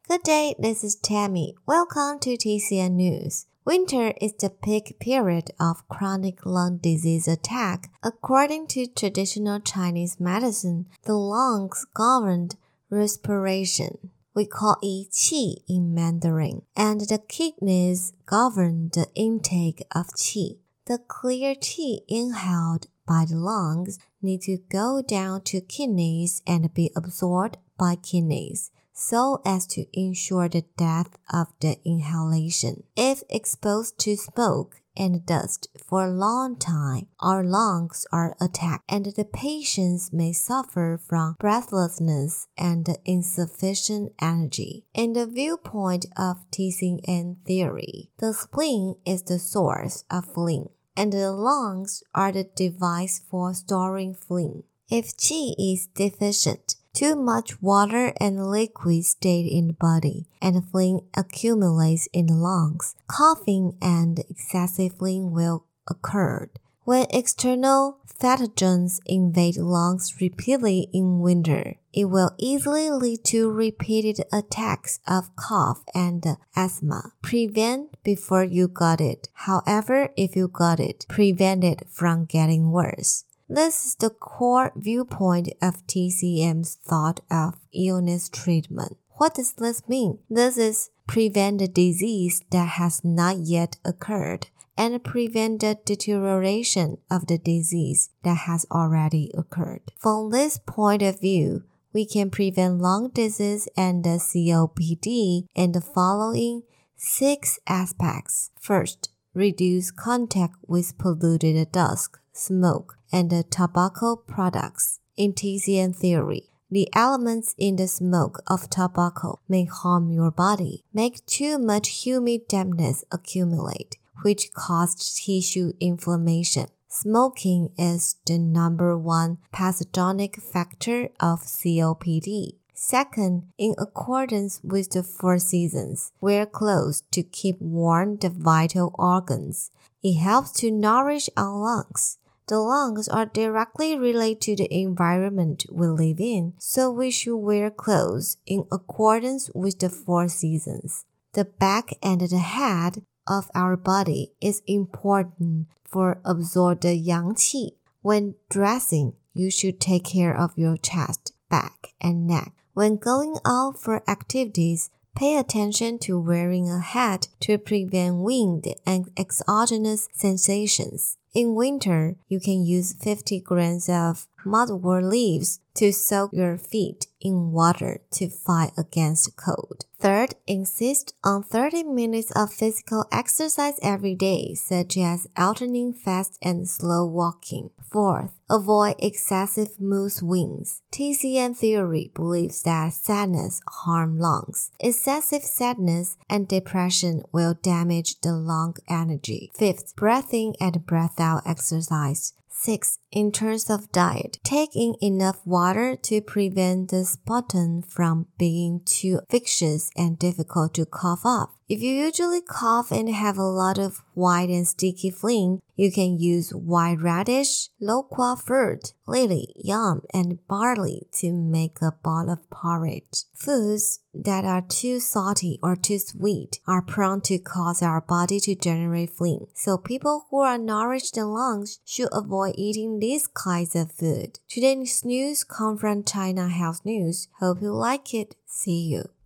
Good day, this is Tammy. Welcome to TCN News. Winter is the peak period of chronic lung disease attack. According to traditional Chinese medicine, the lungs govern respiration. We call it qi in Mandarin, and the kidneys govern the intake of qi. The clear qi inhaled by the lungs need to go down to kidneys and be absorbed by kidneys, so as to ensure the death of the inhalation. If exposed to smoke and dust for a long time, our lungs are attacked and the patients may suffer from breathlessness and insufficient energy. In the viewpoint of TCN theory, the spleen is the source of phlegm, and the lungs are the device for storing phlegm. If qi is deficient, too much water and liquid stay in the body, and phlegm accumulates in the lungs. Coughing and excessive phlegm will occur. When external pathogens invade lungs repeatedly in winter, it will easily lead to repeated attacks of cough and asthma. Prevent before you got it. However, if you got it, prevent it from getting worse. This is the core viewpoint of TCM's thought of illness treatment. What does this mean? This is prevent the disease that has not yet occurred and prevent the deterioration of the disease that has already occurred. From this point of view, we can prevent lung disease and COPD in the following 6 aspects. First, reduce contact with polluted dust, smoke, and tobacco products. In TCN theory, the elements in the smoke of tobacco may harm your body, make too much humid dampness accumulate, which causes tissue inflammation. Smoking is the number 1 pathogenic factor of COPD. Second, in accordance with the 4 seasons, wear clothes to keep warm the vital organs. It helps to nourish our lungs. The lungs are directly related to the environment we live in, so we should wear clothes in accordance with the 4 seasons. The back and the head of our body is important for absorb the yang qi. When dressing, you should take care of your chest, back, and neck. When going out for activities, pay attention to wearing a hat to prevent wind and exogenous sensations. In winter, you can use 50 grams of mugwort leaves to soak your feet in water to fight against cold. Third, insist on 30 minutes of physical exercise every day, such as alternating fast and slow walking. Fourth, avoid excessive mood swings. TCN theory believes that sadness harms lungs. Excessive sadness and depression will damage the lung energy. Fifth, breath in and breath out exercise. 6. In terms of diet, take in enough water to prevent the sputum from being too vicious and difficult to cough up. If you usually cough and have a lot of white and sticky phlegm, you can use white radish, loquat fruit, lily, yam, and barley to make a bowl of porridge. Foods that are too salty or too sweet are prone to cause our body to generate phlegm, so people who are nourished in lungs should avoid eating these kinds of food. Today's news comes from China Health News. Hope you like it. See you.